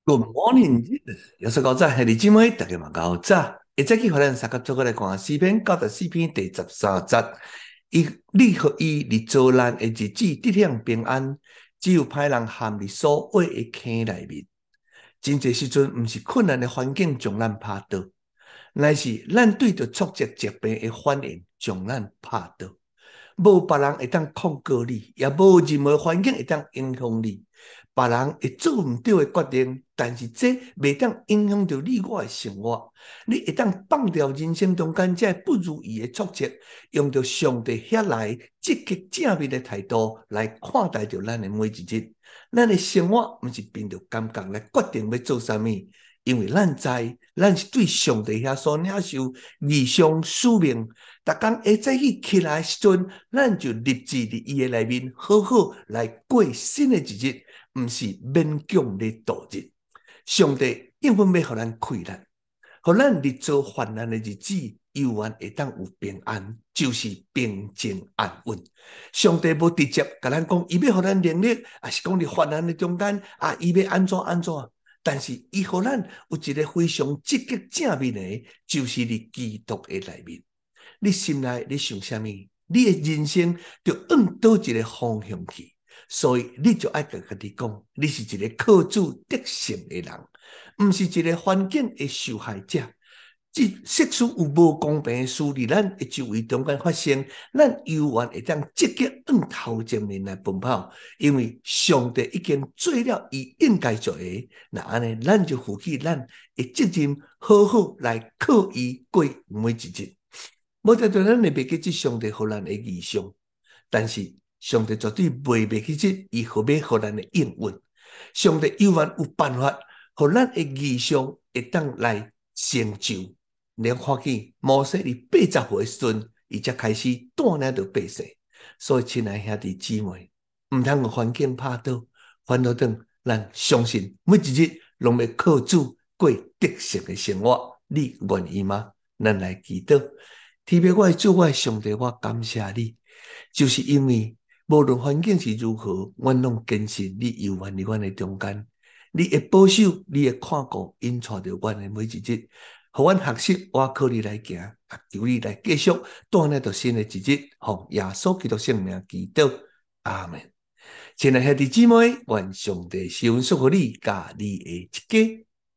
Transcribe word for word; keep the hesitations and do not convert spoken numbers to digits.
Good morning，有說高早，係你姊妹，大家嘛高早。一早起，互咱三個做伙來看詩篇九十四篇第十三節。伊你互伊佇遭難的日子得享平安，只有歹人陷佇所挖的坑內面。真濟時陣，毋是困難的環境將咱拍倒，乃是咱對着挫折疾病的反應將咱拍倒。無別人會當控告你，也無任何環境會當影響你。別人會做毋對的決定，但是這袂當影響到你我的生活。你會當放掉人生中間這不如意的挫折，用着上帝遐來積極正面的態度來看待着咱的每一日。咱的生活毋是憑着感覺來決定要做啥物，因為咱知咱是對上帝遐所領受異象使命。逐工下早起起來的時陣，咱就立志佇伊的內面好好來過新的一日。毋是勉強的度日，上帝永遠要互咱快樂，互咱日做患難的日子，永遠會當有平安，就是平靜安穩。上帝無直接甲咱講，伊要互咱能力，也是講佇患難的中間，啊，伊要安怎安怎？但是伊互咱有一個非常積極正面的，就是佇基督的內面。你心內你想啥物？你的人生就往倒一個方向去。所以你就愛甲家己講，你是一個靠主得勝的人，毋是一個環境的受害者。即即使有無公平的事佇咱的周圍中間發生，咱永遠會當積極往頭前面來奔跑，因為上帝已經做了伊應該做的。那安尼，咱就負起咱的責任，好好來靠伊過每一日。無得對咱會袂記即上帝互咱的異象，但是。上帝絕對袂袂記即伊何要互咱的應允。上帝永遠有辦法，互咱的異象會當來成就。連看見摩西佇八十歲的時陣，伊才開始帶領着百姓。所以，親愛兄弟姊妹，毋通互環境拍倒，反倒當咱相信每一日攏要靠主過得勝的生活。你願意嗎？咱來祈禱。天父，我的主，我的上帝，我感謝你，就是因為。無論環境是如何，阮攏堅信你永遠佇阮的中間，你會保守，你會看顧，引帶着阮的每一日，互阮學習，我靠你來行，啊，求你來繼續帶領着新的一日，奉耶穌基督聖名祈禱，阿門。親愛的兄弟姊妹，願上帝賜福予你，甲你的一家。